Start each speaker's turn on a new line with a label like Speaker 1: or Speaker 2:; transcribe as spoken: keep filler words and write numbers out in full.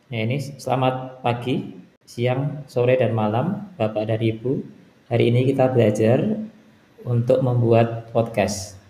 Speaker 1: Ya ini selamat pagi, siang, sore, dan malam, Bapak dan Ibu. Hari ini kita belajar untuk membuat podcast.